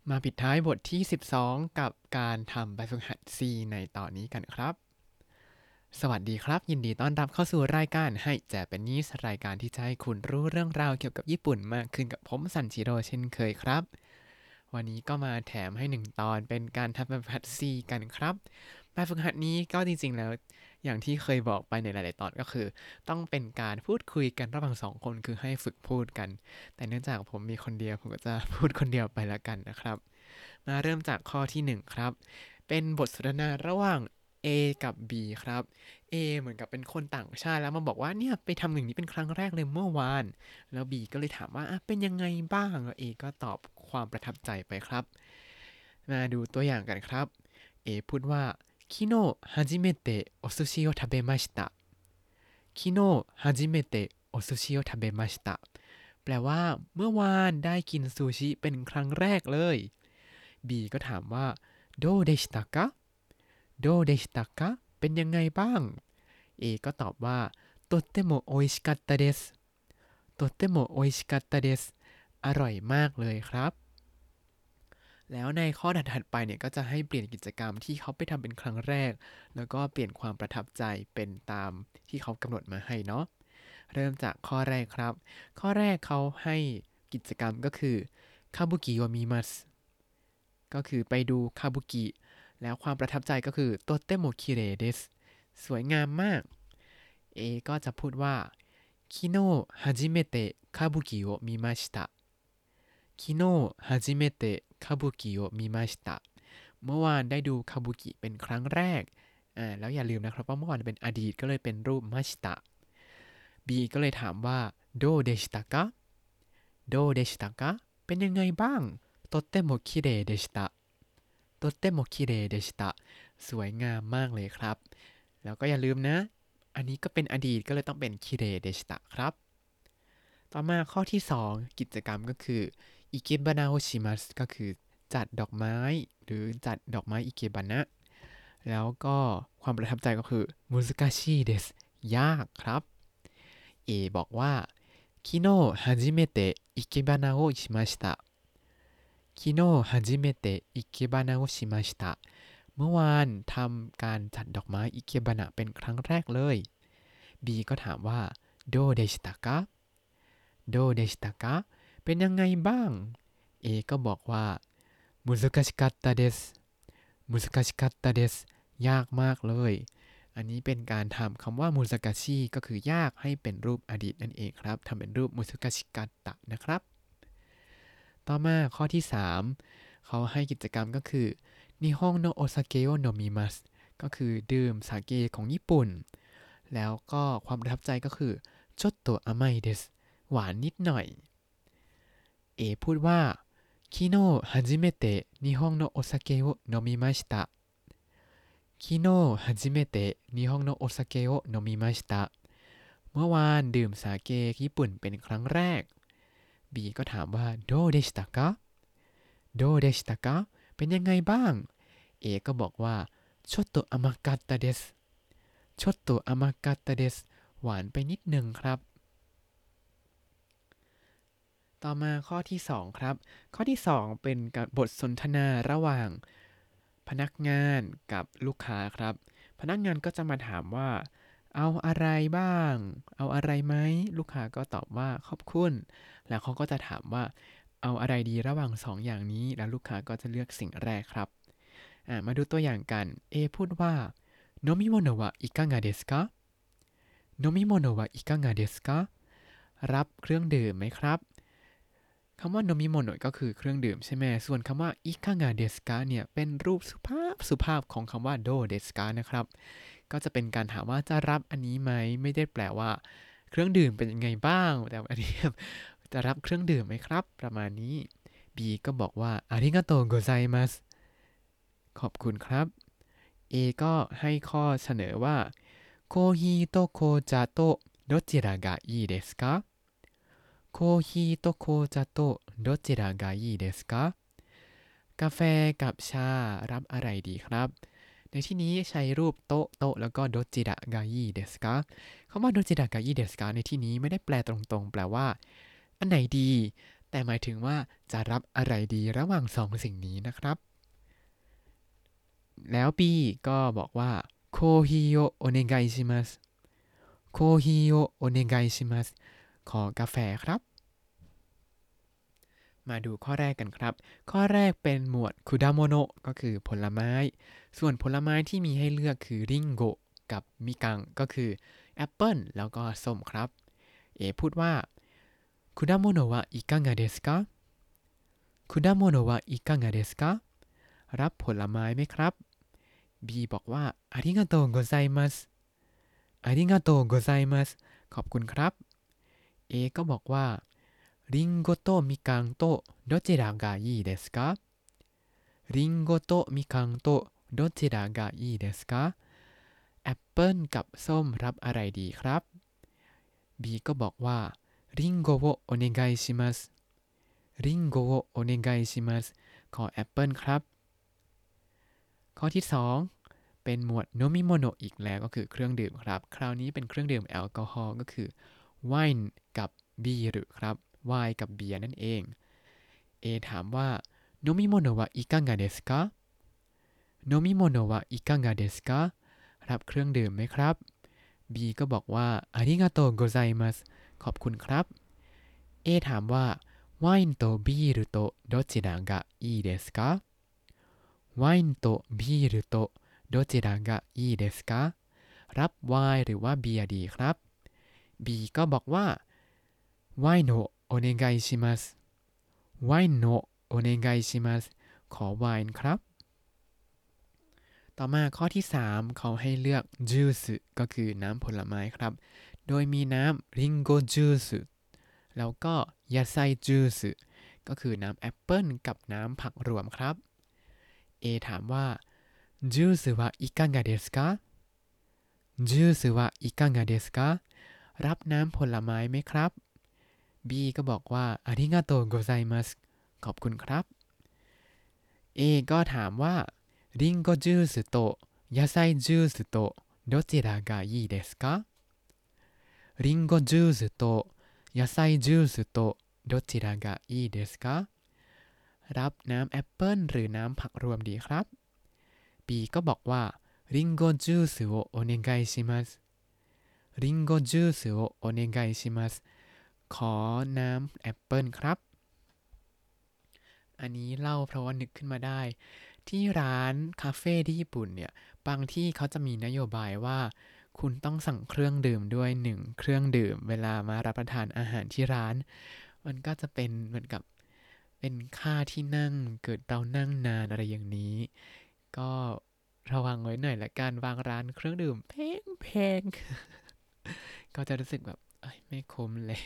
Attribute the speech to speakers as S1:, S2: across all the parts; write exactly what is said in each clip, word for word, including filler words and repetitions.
S1: มาปิดท้ายบทที่สิบสองกับการทำแบบฝึกหัด C ในตอนนี้กันครับสวัสดีครับยินดีต้อนรับเข้าสู่รายการให้เจแปนิสรายการที่จะให้คุณรู้เรื่องราวเกี่ยวกับญี่ปุ่นมากขึ้นกับผมซันจิโร่เช่นเคยครับวันนี้ก็มาแถมให้หนึ่งตอนเป็นการทำแบบฝึกหัด C กันครับแบบฝึกหัดนี้ก็จริงๆแล้วอย่างที่เคยบอกไปในหลายๆตอนก็คือต้องเป็นการพูดคุยกันระหว่างสองคนคือให้ฝึกพูดกันแต่เนื่องจากผมมีคนเดียวผมก็จะพูดคนเดียวไปละกันนะครับ มาเริ่มจากข้อที่หนึ่งครับเป็นบทสนทนาระหว่าง A กับ B ครับ A เหมือนกับเป็นคนต่างชาติแล้วมาบอกว่าเนี่ยไปทำอย่างนี้เป็นครั้งแรกเลยเมื่อวานแล้ว B ก็เลยถามว่าอ่ะเป็นยังไงบ้างแล้ว A ก็ตอบความประทับใจไปครับมาดูตัวอย่างกันครับ A พูดว่า昨日初めてお寿司を食べました昨日初めてお寿司を食べましたแปลว่าเมื่อวานได้กินซูชิเป็นครั้งแรกเลย B ก็ถามว่าโดเดชิตะกะโดเดชิตะกะเป็นยังไงบ้าง A ก็ตอบว่าとっても美味しかったですとっても美味しかったですอร่อยมากเลยครับแล้วในข้อถัดๆไปเนี่ยก็จะให้เปลี่ยนกิจกรรมที่เขาไปทำเป็นครั้งแรกแล้วก็เปลี่ยนความประทับใจเป็นตามที่เขากำหนดมาให้เนาะเริ่มจากข้อแรกครับข้อแรกเขาให้กิจกรรมก็คือคาบุกิโอมิมัส ก็คือไปดูคาบุกิแล้วความประทับใจก็คือโตเตโมคิเรเดสสวยงามมาก A ก็จะพูดว่า昨日初めてカブキを見ました昨日初めてカブキを見ましたเมื่อวานได้ดูคาบุกิเป็นครั้งแรกอ่าแล้วอย่าลืมนะครับว่าเมื่อวานเป็นอดีตก็เลยเป็นรูปมาชิตะ B ก็เลยถามว่าโดเดชิตะกะโดเดชิตะกะเป็นยังไงบ้างとっても綺麗でしたとっても綺麗でしたสวยงามมากเลยครับแล้วก็อย่าลืมนะอันนี้ก็เป็นอดีตก็เลยต้องเป็นคิเรเดชิตะครับต่อมาข้อที่สองกิจกรรมก็คืออิเกบานาโอชิมัสก็คือจัดดอกไม้หรือจัดดอกไม้อิเกบานะแล้วก็ความประทับใจก็คือมุสกาชิเดสยากครับ A บอกว่า昨日初めて生け花をしました昨日初めて生け花をしましたเมื่อวานทำการจัดดอกไม้อิเกบานะเป็นครั้งแรกเลย B ก็ถามว่าโดเดชิตะกะโดเดชิตะกะเป็นยังไงบ้าง A ก็บอกว่ามุสกาชิกัตตาเดสมุสกาชิกัตตาเดสยากมากเลยอันนี้เป็นการทำคำว่ามุสกาชิก็คือยากให้เป็นรูปอดีตนั่นเองครับทำเป็นรูปมุสกาชิกัตตะนะครับต่อมาข้อที่สามเขาให้กิจกรรมก็คือนิฮงโนโอซาเกะโนมิมัสก็คือดื่มสาเกของญี่ปุ่นแล้วก็ความประทับใจก็คือちょっと甘いですหวานนิดหน่อย A พูดว่า昨日初めて日本のお酒を飲みました昨日初めて日本のお酒を飲みましたเมื่อวานดื่มสาเกญี่ปุ่นเป็นครั้งแรก B ก็ถามว่าโดเดชิตะกะโดเดชิตะกะเป็นยังไงบ้าง A ก็บอกว่าちょっと甘かったですちょっと甘かったですหวานไปนิดนึงครับต่อมาข้อที่สองครับข้อที่สองเป็นบทสนทนาระหว่างพนักงานกับลูกค้าครับพนักงานก็จะมาถามว่าเอาอะไรบ้างเอาอะไรไหมลูกค้าก็ตอบว่าขอบคุณแล้วเขาก็จะถามว่าเอาอะไรดีระหว่างสองอย่างนี้แล้วลูกค้าก็จะเลือกสิ่งแรกครับมาดูตัวอย่างกัน A พูดว่าโนมิโมโนะวะอิกางะเดสกะโนมิโมโนะวะอิกางะเดสกะรับเครื่องดื่มไหมครับคำว่าโนมิโมโนะก็คือเครื่องดื่มใช่ไหมส่วนคำว่าอิกางะเดสกะเนี่ยเป็นรูปสุภาพสุภาพของคำว่าโดเดสกะนะครับก็จะเป็นการถามว่าจะรับอันนี้ไหมไม่ได้แปลว่าเครื่องดื่มเป็นยังไงบ้างแต่อันนี้จะรับเครื่องดื่มไหมครับประมาณนี้ B ก็บอกว่าอาริกาโตโกไซมัสขอบคุณครับ A ก็ให้ข้อเสนอว่าโคฮิโตโคจาโตどちらがいいですかโคฮิโตโคจาโตどちらがいいですかกาแฟกับชารับอะไรดีครับในที่นี้ใช้รูปโต๊ะโต๊ะแล้วก็โดจิระกายิเดสกะคำว่าโดจิระกายิเดสกะในที่นี้ไม่ได้แปลตรงๆแปลว่าอันไหนดีแต่หมายถึงว่าจะรับอะไรดีระหว่างสองสิ่งนี้นะครับแล้ว B ก็บอกว่าโคฮิโอโอเนไกชิมัสโคฮิโอโอเนไกชิมัสขอกาแฟครับมาดูข้อแรกกันครับข้อแรกเป็นหมวดคุดาโมโนะก็คือผลไม้ส่วนผลไม้ที่มีให้เลือกคือริงโกะกับมิกังก็คือแอปเปิลแล้วก็ส้มครับเอพูดว่าคุดาโมโนะวะอิกังะเดสกะคุดาโมโนะวะอิกังะเดสกะรับผลไม้ไหมครับ B บอกว่าอาริกาโตโกไซมัสอาริกาโตโกไซมัสขอบคุณครับ A ก็บอกว่าริงโกโตมิกังโตどちらがいいですかริงโกโตมิกังโตどちらがいいですかแอปเปิลกับส้มรับอะไรดีครับ B ก็บอกว่าริงโกโอโอเนไกชิมัสริงโกโอโอเนไกชิมัสขอแอปเปิลครับข้อที่สองเป็นหมวดโนมิโมโนอีกแล้วก็คือเครื่องดื่มครับคราวนี้เป็นเครื่องดื่มแอลกอฮอล์ก็คือไวน์กับเบียร์ครับไวน์กับเบียร์นั่นเอง A ถามว่าโนมิโมโนะวะอิกังะเดสกะโนมิโมโนะวะอิกังะเดสกะรับเครื่องดื่มไหมครับ B ก็บอกว่าอาริกาโตโกไซมัสขอบคุณครับ A ถามว่าไวน์โตビールとどちらがいいですかไวน์โตビールとどちらがいいですかรับไวน์หรือว่าเบียร์ดีครับ B ก็บอกว่าไวน์โนโอเนไกชิมัสไวน์โนโอเนไกชิมัสขอไวน์ครับต่อมาข้อที่สามเขาให้เลือกจูสก็คือน้ำผลไม้ครับโดยมีน้ำริงโกจูสแล้วก็ยาไซจูสก็คือน้ำแอปเปิลกับน้ำผักรวมครับ A ถามว่าจูสวะอิกังะเดสกะจูสวะอิกังะเดสกะรับน้ำผลไม้ไหมครับ B ก็บอกว่าอาริกาโตโกไซมัสขอบคุณครับ A ก็ถามว่าริงโกจูสโตยาไซจูสโตどちらがいいですかริงโกจูสโตยาไซจูสโตどちらがいいですかรับน้ำแอปเปิลหรือน้ำผักรวมดีครับ B ก็บอกว่าริงโกจูสโอโอเนไกชิมัสริงโกจูสโอโอเนไกชิมัสขอน้ำแอปเปิลครับอันนี้เล่าเพราะว่านึกขึ้นมาได้ที่ร้านคาเฟ่ที่ญี่ปุ่นเนี่ยบางที่เขาจะมีนโยบายว่าคุณต้องสั่งเครื่องดื่มด้วยหนึ่งเครื่องดื่มเวลามารับประทานอาหารที่ร้านมันก็จะเป็นเหมือนกับเป็นค่าที่นั่งเกิดเรานั่งนานอะไรอย่างนี้ก็ระวังไว้หน่อยละกันบางร้านเครื่องดื่มแพงแพง ก็จะรู้สึกแบบไม่คุ้มเลย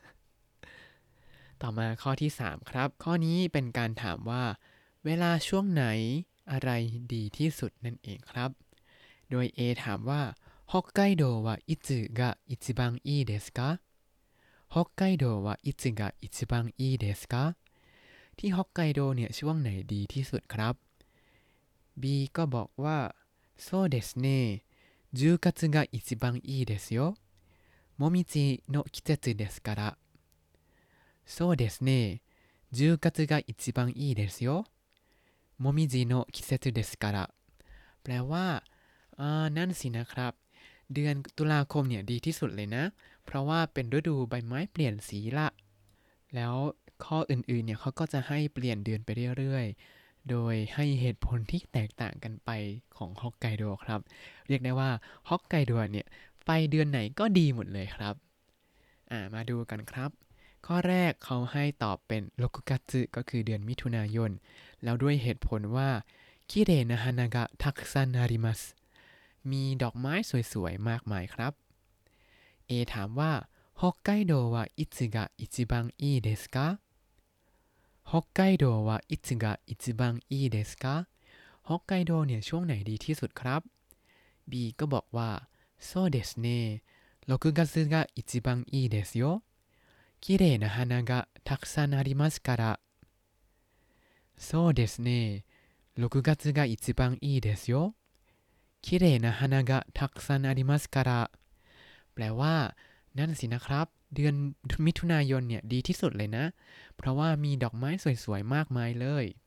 S1: ต่อมาข้อที่สามครับข้อนี้เป็นการถามว่าเวลาช่วงไหนอะไรดีที่สุดนั่นเองครับโดย A ถามว่าฮอกไกโดวะอิซึกะอิจิบังอีเดสกะฮอกไกโดวะอิซึกะอิจิบังอีเดสกะที่ฮอกไกโดเนี่ยช่วงไหนดีที่สุดครับ B ก็บอกว่าโซเดสเน่じゅうがつが一番いいですよもみじの季節ですからそうですねじゅうがつが一番いいですよもみじの季節ですからแปลว่าอ่านั่นสินะครับเดือนตุลาคมเนี่ยดีที่สุดเลยนะเพราะว่าเป็นฤดูใบไม้เปลี่ยนสีละแล้วข้ออื่นๆเนี่ยเขาก็จะให้เปลี่ยนเดือนไปเรื่อยๆโดยให้เหตุผลที่แตกต่างกันไปของฮอกไกโดครับเรียกได้ว่าฮอกไกโดเนี่ยไปเดือนไหนก็ดีหมดเลยครับอ่ามาดูกันครับข้อแรกเขาให้ตอบเป็นโรกุกัตสึก็คือเดือนมิถุนายนแล้วด้วยเหตุผลว่าคิเรนะฮานากะทักซันอาริมัสมีดอกไม้สวยๆมากมายครับ A ถามว่าฮอกไกโดวะอิซึกะอิจิบังอีเดสกะฮอกไกโดวะอิซึกะอิจิบังอีเดสกะฮอกไกโดเนี่ยช่วงไหนดีที่สุดครับ B ก็บอกว่าโซเดสเน่ろくがつが一番いいですよ綺麗な花がたくさんありますからそうですねろくがつが一番いいですよ綺麗な花がたくさんありますからแปลว่านั่นสินะครับเดือนมิถุนายนเนี่ยดีที่สุดเลยนะ เพราะว่ามีดอกไม้สวยๆมากมายเลย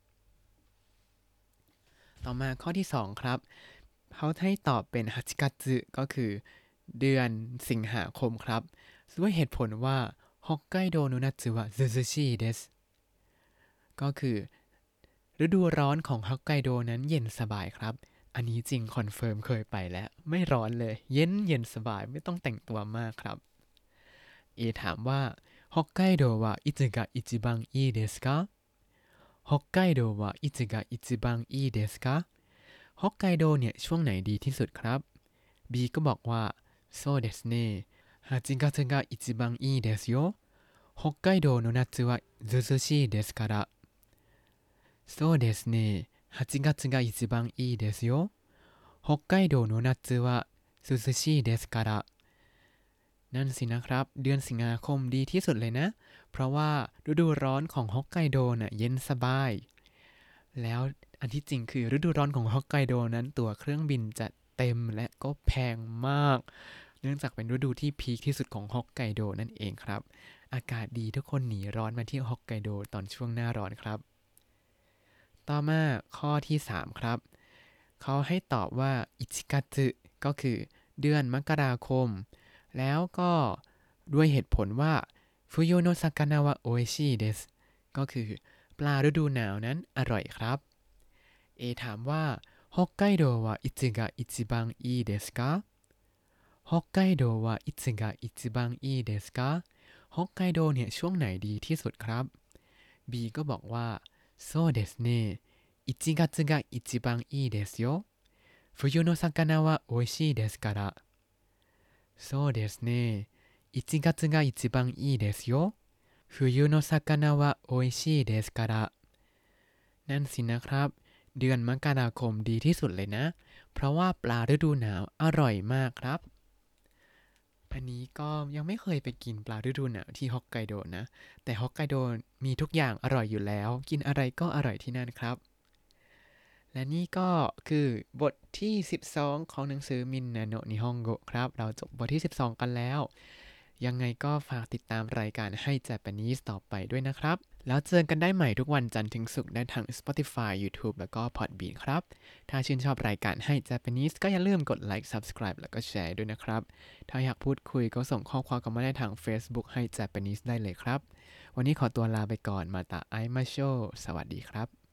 S1: ต่อมาข้อที่สองครับเขาให้ตอบเป็นฮัจิกัตสึก็คือเดือนสิงหาคมครับด้วยเหตุผลว่าฮอกไกโดโนนัตสึวะซูซูชิเดสก็คือฤดูร้อนของฮอกไกโดนั้นเย็นสบายครับอันนี้จริงคอนเฟิร์มเคยไปแล้วไม่ร้อนเลยเย็นเย็นสบายไม่ต้องแต่งตัวมากครับเอถามว่าฮอกไกโดวะอิซึกะอิจิบังอีเดสกะฮอกไกโดวะอิซึกะอิจิบังอีเดสกะฮอกไกโดเนี่ยช่วงไหนดีที่สุดครับ B ก็บอกว่าそうですねはちがつが一番いいですよ北海道の夏は涼しいですからそうですねはちがつが一番いいですよ北海道の夏は涼しいですからนั่นสินะครับเดือนสิงหาคมดีที่สุดเลยนะเพราะว่าฤดูร้อนของฮอกไกโดน่ะเย็นสบายแล้วอันที่จริงคือฤดูร้อนของฮอกไกโดนั้นตั๋วเครื่องบินจะเต็มและก็แพงมากเนื่องจากเป็นฤดูที่พีคที่สุดของฮอกไกโดนั่นเองครับอากาศดีทุกคนหนีร้อนมาที่ฮอกไกโดตอนช่วงหน้าร้อนครับต่อมาข้อที่สามครับเขาให้ตอบว่าอิจิกัตสึก็คือเดือนมกราคมแล้วก็ด้วยเหตุผลว่าฟุโยโนซากานะวะโออิชิเดสก็คือปลาฤดูหนาวนั้นอร่อยครับเอถามว่า北海道はいつが一番いいですか北海道はいつが一番いいですかฮอกไกโดเนี่ยช่วงไหนดีที่สุดครับ B ก็บอกว่าそうですねいちがつが一番いいですよ冬の魚は美味しいですからそうですねいちがつが一番いいですよ冬の魚は美味しいですからนั่นสินะครับเดือนมกราคมดีที่สุดเลยนะเพราะว่าปลาฤดูหนาวอร่อยมากครับอันนี้ก็ยังไม่เคยไปกินปลาฤดูหนาวที่ฮอกไกโดนะแต่ฮอกไกโดมีทุกอย่างอร่อยอยู่แล้วกินอะไรก็อร่อยที่นั่นครับและนี่ก็คือบทที่สิบสองของหนังสือมินนาโนะนิฮงโกะครับเราจบบทที่สิบสองกันแล้วยังไงก็ฝากติดตามรายการให้ Japanese ต่อไปด้วยนะครับแล้วเจอกันได้ใหม่ทุกวันจันทร์ถึงศุกร์ได้ทาง Spotify YouTube แล้วก็ Podbean ครับถ้าชื่นชอบรายการให้ Japanese ก็อย่าลืมกดไลค์ Subscribe แล้วก็แชร์ด้วยนะครับถ้าอยากพูดคุยก็ส่งข้อความกันมาได้ทาง Facebook ให้ Japanese ได้เลยครับวันนี้ขอตัวลาไปก่อนมาตาไอมาโชสวัสดีครับ